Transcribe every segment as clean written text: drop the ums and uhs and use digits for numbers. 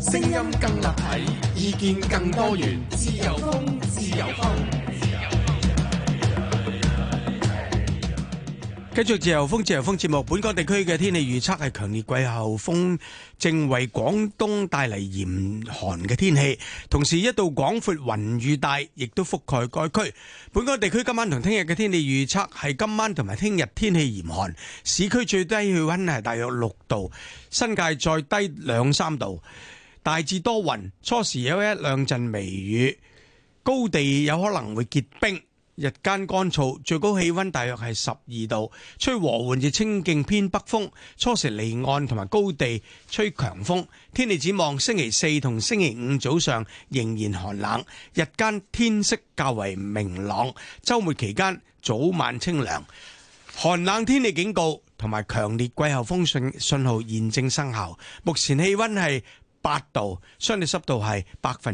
聲音更立體，意見更多元，自由風，自由風。 繼續自由風節目，本港地區嘅天氣預測係強烈季候風正為廣東帶嚟嚴寒嘅天氣，同時一道廣闊雲雨帶亦都覆蓋該區。本港地區今晚同聽日嘅天氣預測係今晚同埋聽日天氣嚴寒，市區最低氣溫係大約6度，新界再低2-3度，大致多雲，初時有一兩陣微雨，高地有可能會結冰。日間乾燥，最高氣溫大約係12度，吹和緩至清勁偏北風，初時離岸同埋高地吹強風。天氣展望星期四同星期五早上仍然寒冷，日間天色較為明朗，週末期間早晚清涼。寒冷天氣警告同埋強烈季候風信號現正生效。目前氣溫係8度，相對濕度係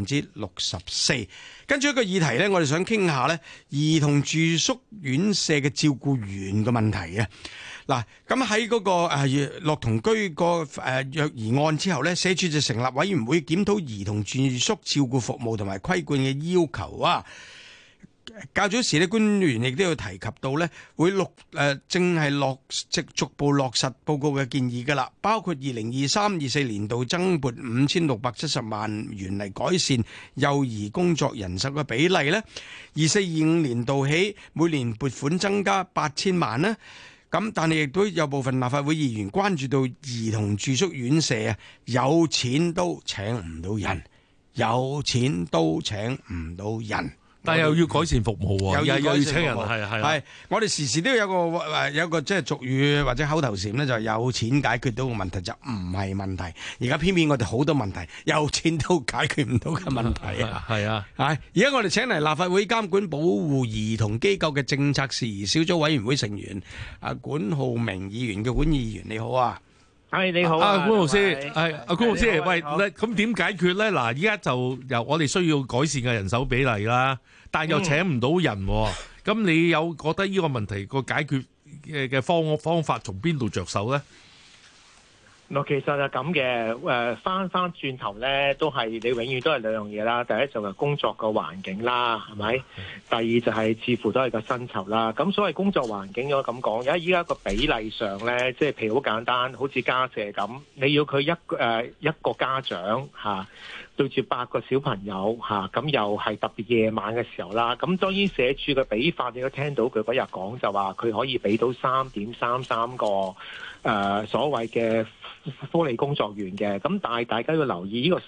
64%。跟住一個議題呢，我哋想傾下呢兒童住宿院舍嘅照顧員嘅問題啊。嗱，咁喺嗰個樂童居個虐兒案之後呢，社署就成立委員會檢討兒童住宿照顧服務同埋規管嘅要求啊。較早時咧，官員亦都有提及到咧，會正係逐步落實報告嘅建議㗎啦，包括2023-24年度增撥5670萬元嚟改善幼兒工作人手嘅比例咧，24-25年度起每年撥款增加8000萬啦。咁但係亦都有部分立法會議員關注到兒童住宿院舍啊，有錢都請唔到人，有錢都請唔到人。 但係又要改善服務喎，又要請人，係。 我哋時時都有個即係俗語或者口頭禪咧，就係有錢解決到個問題就唔係問題。而家偏偏我哋好多問題有錢都解決唔到嘅問題啊！ 係啊， 而家我哋請嚟立法會監管保護兒童機構嘅政策事宜小組委員會成員管浩鳴議員嘅，管議員你好啊！ 係你好管老師，管老師，喂，咁點解決咧？嗱，依家就由我哋需要改善嘅人手比例啦，但又請唔到人，咁你有覺得呢個問題個解決嘅方法從邊度着手咧？ 其實係咁嘅，翻轉頭咧，都係你永遠都係兩樣嘢啦。第一就係工作個環境啦，係咪？第二就係似乎都係個薪酬啦。咁所謂工作環境，我咁講，而家依家個比例上咧，即係譬如好簡單，好似家舍咁，你要佢一個家長對住8個小朋友咁又係特別夜晚嘅時候啦。咁當然社署嘅比法，你都聽到佢嗰日講就話佢可以俾到3.33個所謂嘅福利工作員嘅。咁但係大家要留意呢個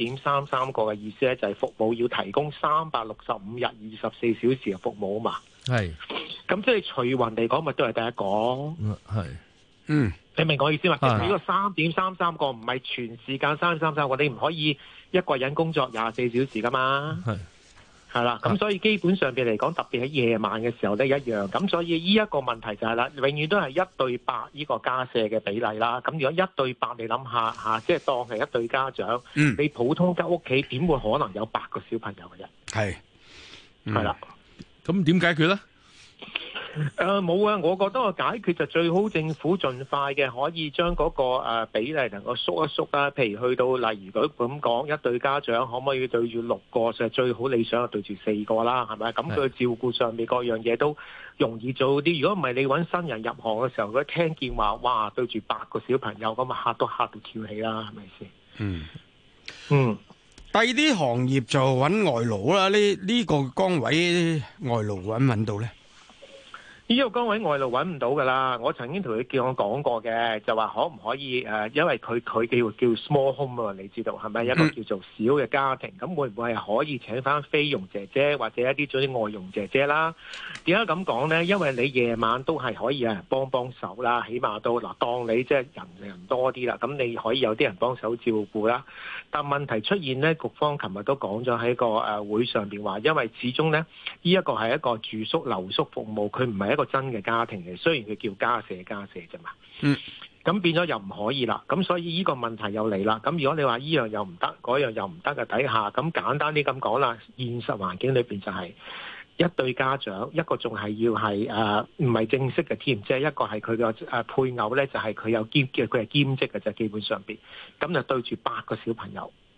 3.33個嘅意思咧，就係服務要提供365日24小時嘅服務啊嘛。係。咁即係除勻嚟講，咪都係第一個。係。你明我意思嘛？其實呢個3.33個唔係全時間3.33個，你唔可以一個人工作24小時噶嘛。係啦，咁所以基本上邊嚟講，特別喺夜晚嘅時候咧一樣。咁所以呢一個問題就係啦，永遠都係1對8呢個家舍嘅比例啦。咁如果1對8，你諗下即係當係一對家長，你普通間屋企點會可能有8個小朋友嘅啫？係啦， 咁點解決咧？ 冇啊！我覺得個解決就最好政府盡快嘅可以將嗰個比例能夠縮一縮啦。譬如去到例如佢咁講，一對家長可唔可以對住6個？就最好理想係對住4個啦，係咪？咁佢照顧上面各樣嘢都容易做啲。如果唔係你揾新人入行嘅時候，佢聽見話哇對住8個小朋友咁啊，嚇到跳起啦，係咪先？ 第二啲行業就揾外勞啦。呢個崗位外勞揾到咧？ 呢個崗位外勞揾唔到㗎啦。我曾經同佢叫我講過嘅，就話可唔可以因為佢叫 small home 啊，你知道係咪一個叫做小嘅家庭？咁會唔會係可以請翻菲傭姐姐或者一啲做啲外傭姐姐啦？點解咁講呢？因為你夜晚都係可以有人幫手啦，起碼都當你即係人多啲啦，咁你可以有啲人幫手照顧啦。但問題出現呢，局方琴日都講咗喺個會上邊話，因為始終呢，呢一個係一個住宿留宿服務，佢唔係一個真嘅家庭嘅，雖然佢叫家舍啫嘛。咁變咗又唔可以啦。咁所以呢個問題又嚟啦。咁如果你話呢樣又唔得，嗰樣又唔得嘅底下，咁簡單啲咁講啦，現實環境裏邊就係一對家長，一個仲係要係唔係正式嘅添，即係一個係佢個配偶咧，就係佢有佢係兼職嘅啫，基本上邊咁就對住8個小朋友。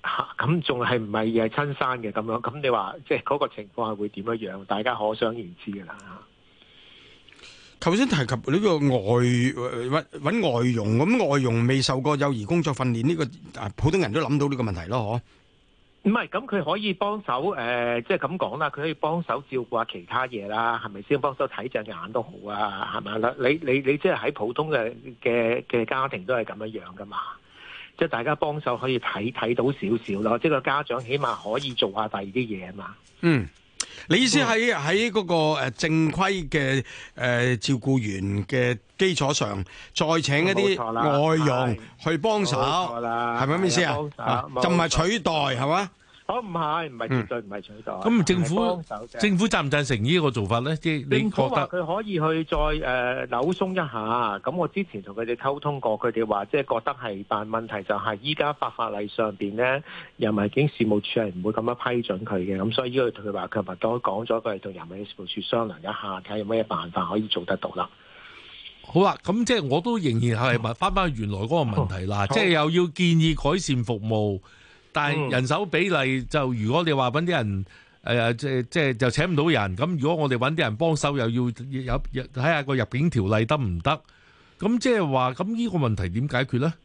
咁仲係唔係親生嘅咁樣？咁你話即係嗰個情況係會點樣？大家可想而知㗎啦。 頭先提及呢個揾外傭，咁外傭未受過幼兒工作訓練，呢個普通人都諗到呢個問題咯， 唔係，咁佢可以幫手即係咁講啦，佢可以幫手照顧下其他嘢啦，係咪先？幫手睇隻眼都好啊，係咪啦？你即係喺普通嘅家庭都係咁樣噶嘛？即係大家幫手可以睇到少少咯，即係個家長起碼可以做下第二啲嘢啊嘛。 嗯。你意思喺嗰個正規嘅照顧員嘅基礎上，再請一啲外傭去幫手，係咪咁意思啊？就唔係取代係嘛？ 唔係絕對唔係取代。 咁政府贊唔贊成呢個做法咧？即係你覺得佢可以去再扭鬆一下。咁我之前同佢哋溝通過，佢哋話即係覺得係，但問題就係依家法例上邊咧，人民警事務處係唔會咁樣批准佢嘅。咁所以呢個佢話佢咪都講咗，佢係同人民警事務處商量一下，睇下有咩辦法可以做得到啦。 好啦，咁即係我都仍然係翻去原來嗰個問題啦，即係又要建議改善服務。但係人手比例就，如果你話揾啲人即就請唔到人，咁如果我哋揾啲人幫手，又要睇下個入境條例得唔得？咁即係話，咁呢個問題點解決咧？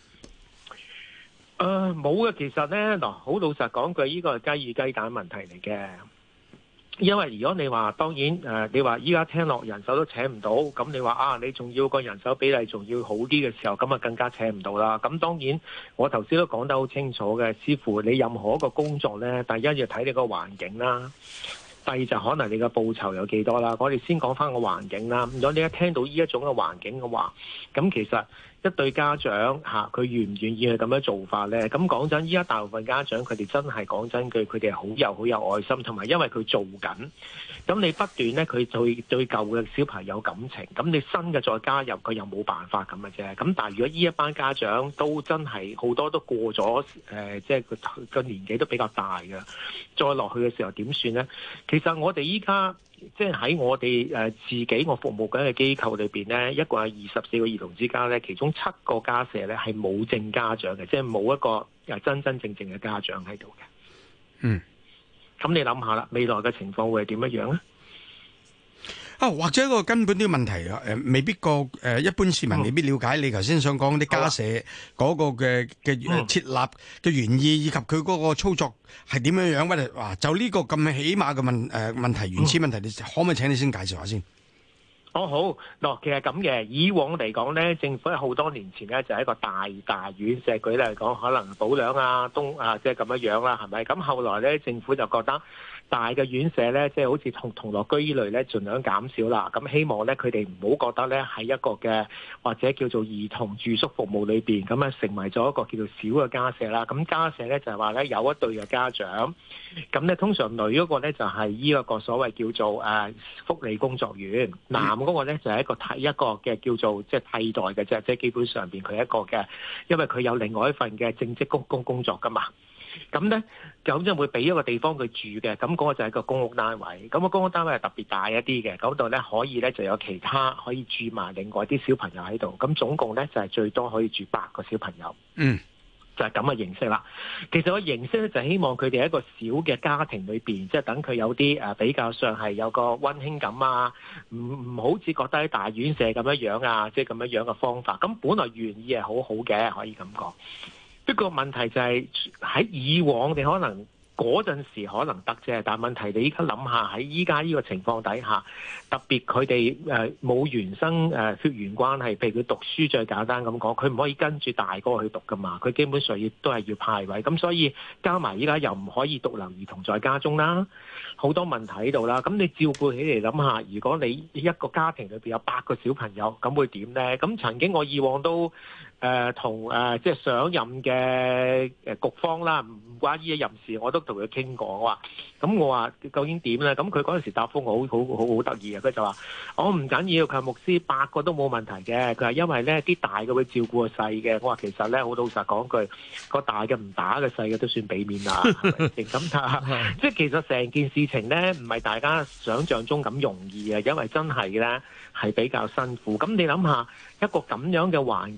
冇嘅，其實咧嗱，好老實講句，呢個係雞與雞蛋問題嚟嘅。因為如果你話當然你話依家聽落人手都請唔到，咁你話你仲要個人手比例仲要好啲嘅時候，咁啊更加請唔到啦。咁當然我頭先都講得好清楚嘅，視乎你任何一個工作呢，第一要睇你個環境啦，第二就可能你嘅報酬有幾多啦。我哋先講翻個環境啦。如果你一聽到呢一種嘅環境嘅話，咁其實一對家長佢願唔願意去咁樣做法呢？咁講真，依家大部分家長佢哋真係講真句，佢哋係好有愛心，同埋因為佢做緊，咁你不斷呢，佢對舊嘅小朋友有感情，咁你新嘅再加入，佢又冇辦法咁嘅啫。咁但係如果呢一班家長都真係好多都過咗即係個年紀都比較大嘅，再落去嘅時候點算呢？其實我哋依家即係喺我哋自己我服務緊嘅機構裏邊呢，一共係24個兒童之家呢，其中7個家舍呢係冇正家長嘅，即係冇一個真正嘅家長喺度嘅。 嗯， 咁你諗下啦，未來嘅情況會係點樣樣呢？ 或者一個根本啲問題未必一般市民未必了解你頭先想講啲家舍嗰個嘅設立嘅原意，以及佢嗰個操作係點樣樣？或者就呢個咁起碼嘅問題原始問題，你可唔可以請你先介紹下先？ 好嗱，其實咁嘅，以往嚟講咧，政府喺好多年前咧就係一個大院舍，舉例嚟講，可能保良即係咁樣樣啦，係咪？咁後來咧，政府就覺得大嘅院舍咧，即係好似同樂居呢類咧，盡量減少啦。咁希望咧，佢哋唔好覺得咧喺一個嘅或者叫做兒童住宿服務裏邊，咁啊成為咗一個叫做小嘅家舍啦。咁家舍咧就係話咧有一對嘅家長，咁咧通常女嗰個咧就係呢一個所謂叫做福利工作員，男嗰個咧就係一個嘅叫做即係替代嘅啫，即係基本上邊佢係一個嘅，因為佢有另外一份嘅正職工作噶嘛。咁咧咁就會俾一個地方佢住嘅，咁嗰個就係一個公屋單位。咁個公屋單位係特別大一啲嘅，嗰度咧可以咧就有其他可以住埋另外啲小朋友喺度。咁總共咧就係最多可以住8個小朋友。 嗯。 就係咁嘅形式啦。其實個形式咧就係希望佢哋喺一個小嘅家庭裏邊，即係等佢有啲比較上係有個溫馨感啊，唔好似覺得喺大院舍咁樣樣啊，即係咁樣樣嘅方法。咁本來原意係好好嘅，可以咁講。不過問題就係喺以往你可能嗰陣時可能得啫，但係問題你依家諗下喺依家呢個情況底下，特別佢哋冇原生血緣關係，譬如佢讀書最簡單咁講，佢唔可以跟住大哥去讀噶嘛，佢基本上亦都係要派位，咁所以加埋依家又唔可以獨留兒童在家中啦，好多問題喺度啦。咁你照顧起嚟諗下，如果你一個家庭裏邊有8個小朋友，咁會點呢？咁曾經我以往都同即係上任嘅局方啦，唔關呢一任事，我都同佢傾過，我話究竟點咧？咁佢嗰陣時答覆我好得意啊！佢就話：我唔緊要，佢係牧師8個都冇問題嘅。佢話因為咧啲大嘅會照顧個細嘅。我話其實咧好老實講句，個大嘅唔打嘅細嘅都算俾面啦，係咪先？咁即係其實成件事情咧唔係大家想象中咁容易啊，因為真係咧係比較辛苦。咁你諗下一個咁樣嘅環境係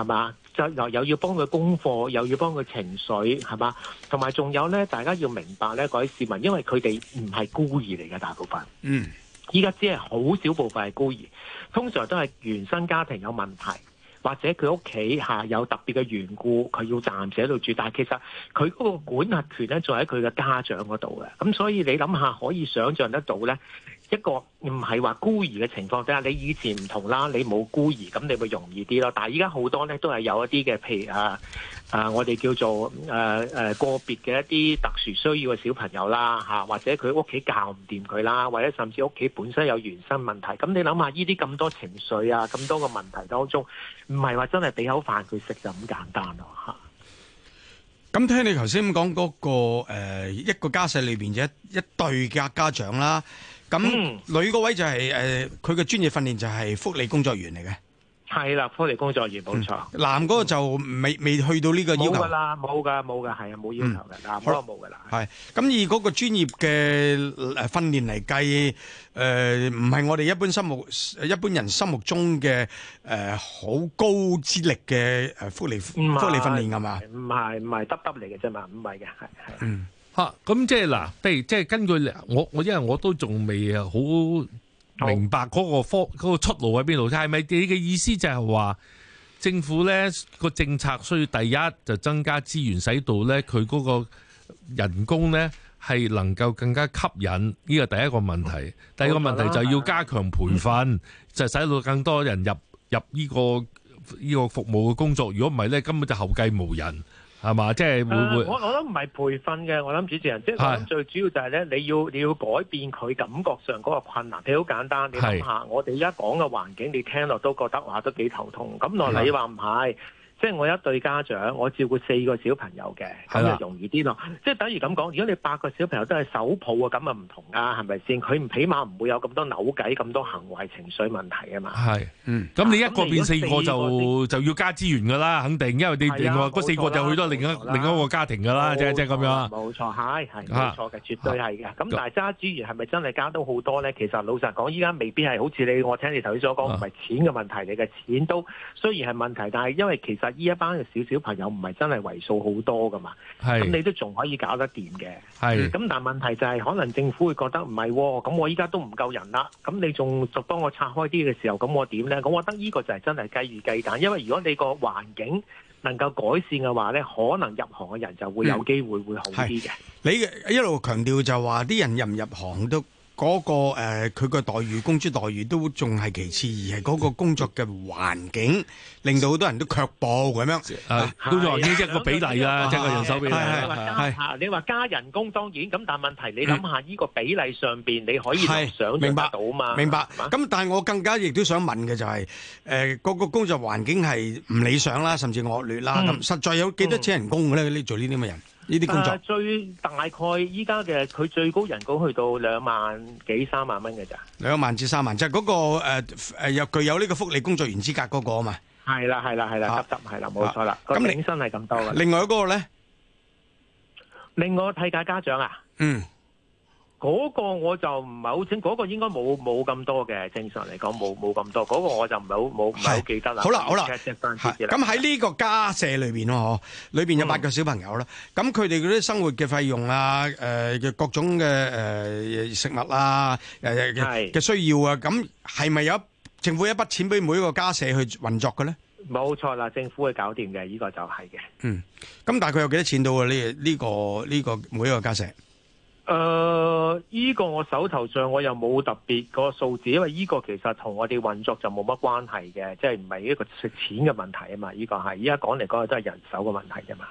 嘛？就又要幫佢功課，又要幫佢情緒，係嘛？同埋仲有咧，大家要明白咧，各位市民，因為佢哋唔係孤兒嚟嘅，大部分。依家只係好少部分係孤兒，通常都係原生家庭有問題，或者佢屋企有特別嘅緣故，佢要暫時喺度住。但係其實佢嗰個管轄權咧，仲喺佢嘅家長嗰度嘅。咁所以你諗下，可以想像得到咧，一個唔係話孤兒嘅情況底下，你以前唔同啦，你冇孤兒，咁你會容易啲咯。但係依家好多咧都係有一啲嘅，譬如我哋叫做個別嘅一啲特殊需要嘅小朋友啦，或者佢屋企教唔掂佢啦，或者甚至屋企本身有原生問題。咁你諗下，呢啲咁多情緒啊，咁多個問題當中，唔係話真係俾口飯佢食就咁簡單咯嚇。 咁聽你頭先講嗰個一個家舍裏邊一對嘅家長啦，咁女嗰位就係佢嘅專業訓練就係福利工作員嚟嘅。係啦，福利工作員冇錯。 男嗰個就未去到呢個要求。冇㗎啦， 冇㗎，係啊，冇要求嘅。男嗰個冇㗎啦。 係咁以嗰個專業嘅訓練嚟計，唔係我哋一般人心目中嘅好高資歷嘅福利訓練係嘛？唔係得嚟嘅啫嘛，唔係嘅，係。 咁即係嗱，譬如即係根據我因為我都仲未好明白嗰個出路喺邊度？係咪你嘅意思就係話政府咧個政策需要第一就增加資源，使到咧佢嗰個人工咧係能夠更加吸引？呢個第一個問題。第二個問題就要加強培訓，就使到更多人入呢個服務嘅工作。如果唔係咧，根本就後繼無人。係嘛？即係會我諗唔係培訓嘅，我諗主持人即係我諗最主要就係咧，你要改變佢感覺上嗰個困難。你好簡單，你諗下，我哋而家講嘅環境，你聽落都覺得話都幾頭痛。咁落你話唔係？即係我一對家長，我照顧4個小朋友嘅，咁就容易啲咯。即係等於咁講，如果你8個小朋友都係手抱啊，咁啊唔同啊，係咪先？佢起碼唔會有咁多扭計、咁多行為情緒問題啊嘛。 係，咁你一個變4個就要加資源㗎啦，肯定，因為你另外嗰4個就去到另一個家庭㗎啦，即係咁樣。 冇錯，係冇錯嘅，絕對係嘅。咁但係加資源係咪真係加到好多咧？其實老實講，依家未必係好似我聽你頭先所講，唔係錢嘅問題嚟嘅，錢都雖然係問題，但係因為其實呢一班嘅小朋友唔係真係為數好多噶嘛，咁你都仲可以搞得掂嘅。咁但係問題就係可能政府會覺得唔係，咁我依家都唔夠人啦，咁你仲幫我拆開啲嘅時候，咁我點呢？咁我覺得呢個就係真係雞與雞蛋，因為如果你個環境能夠改善嘅話呢，可能入行嘅人就會有機會會好啲嘅。 你一路強調就話啲人入唔入行都。嗰個佢個待遇工資待遇都仲係其次，而係嗰個工作嘅環境令到好多人都卻步咁樣。 都話呢一個比例啦，即係個人手比例。 你話加人工當然咁，但係問題你諗下呢個比例上邊，你可以想像得到嘛？ 明白。咁但係我更加亦都想問嘅就係嗰個工作環境係唔理想啦，甚至惡劣啦。咁實在有幾多錢人工嘅咧？你做呢啲咁嘅人？呢啲工作最大概依家嘅佢最高人工去到2萬幾3萬蚊嘅咋？2萬至3萬，就係嗰個又具有呢個福利工作員資格嗰個啊嘛。係啦，係啦，冇錯啦。咁領薪係咁多嘅。另外嗰個咧，另外替假家長啊。嗰個我就唔係好清，嗰個應該冇咁多嘅，正常嚟講冇咁多。嗰個我就唔係好記得啦。好啦，咁喺呢個家舍裏邊咯，裏邊有8個小朋友啦。咁佢哋嗰啲生活嘅費用啊，嘅各種嘅食物啊，嘅需要啊，咁係咪有政府一筆錢俾每一個家舍去運作嘅咧？ 冇錯啦，政府會搞掂嘅，呢個就係嘅。 咁大概有幾多錢到啊？呢個每一個家舍？ 依個我手頭上我又冇特別個數字，因為依個其實同我哋運作就冇乜關係嘅，即係唔係一個食錢嘅問題啊嘛。依個係依家講嚟講去都係人手嘅問題啫嘛。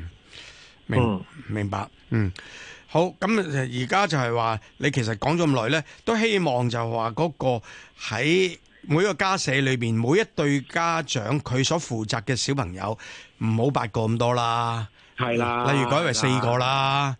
明白。好，咁而家就係話你其實講咗咁耐咧，都希望就話嗰個喺每一個家舍裏邊，每一對家長佢所負責嘅小朋友唔好8個咁多啦，係啦，例如改為4個啦。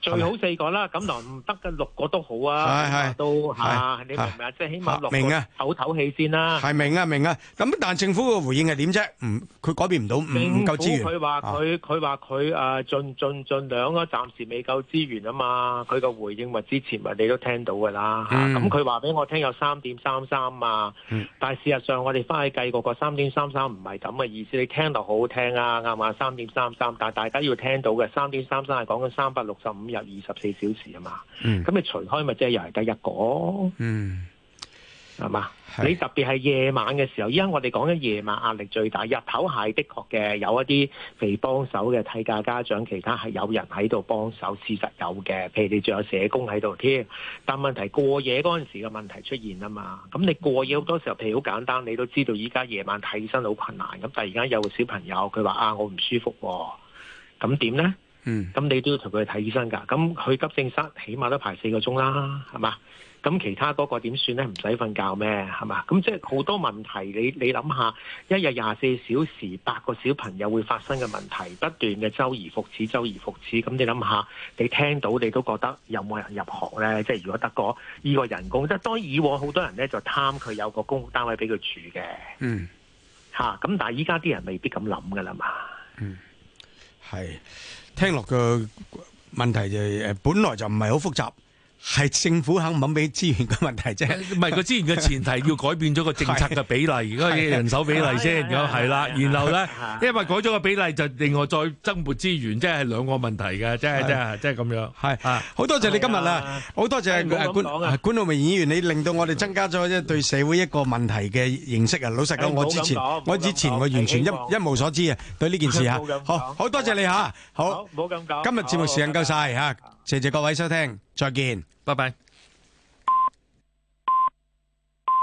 最好4個啦，咁嗱唔得嘅6個都好啊， 係都嚇，你明唔明啊？即係起碼6 明啊個唞氣先啦。 係明啊，咁但係政府嘅回應係點啫？佢改變唔到，唔夠資源。 佢話佢盡量啊，暫時未夠資源啊嘛。佢個回應咪之前咪你都聽到㗎啦。咁佢話俾我聽有3.33啊，但係事實上我哋翻去計個3.33唔係咁嘅意思。你聽到好好聽啊，啱嘛？3.33，但係大家要聽到嘅3.33係講緊365日24小時啊嘛。咁你除開咪即係又係得1個。係嘛？你特別係夜晚嘅時候，依家我哋講緊夜晚壓力最大。日頭係的確嘅，有一啲被幫手嘅替假家長，其他係有人喺度幫手，事實有嘅。譬如你仲有社工喺度添，但問題過夜嗰陣時嘅問題出現啊嘛。咁你過夜好多時候，譬如好簡單，你都知道依家夜晚睇醫生好困難。咁突然間有個小朋友佢話我唔舒服喎，咁點呢？咁你都要同佢去睇醫生㗎。咁去急症室起碼都排4個鐘啦，係嘛？咁其他嗰個點算咧？唔使瞓覺咩？係嘛？咁即係好多問題，你諗下，一日24小時8個小朋友會發生嘅問題，不斷嘅周而復始。咁你諗下，你聽到你都覺得有冇人入學咧？即係如果得個依個人工，即係當然以往好多人咧就貪佢有個公屋單位俾佢住嘅。咁但係依家啲人未必咁諗㗎啦嘛。 係聽落個問題就本來就唔係好複雜。係政府肯唔肯俾資源嘅問題啫， 唔係個資源嘅前提要改變咗個政策嘅比例，而家嘅人手比例先，咁係啦。然後咧，因為改咗個比例，就另外再增撥資源，即係兩個問題嘅，即係咁樣。係好多謝你今日啦，好多謝管浩鳴議員，你令到我哋增加咗對社會一個問題嘅認識啊！老實講，我之前我完全一無所知啊，對呢件事嚇。好多謝你嚇，好， 唔好咁講。 今日節目時間夠晒嚇，謝謝各位收聽，再見。 拜拜。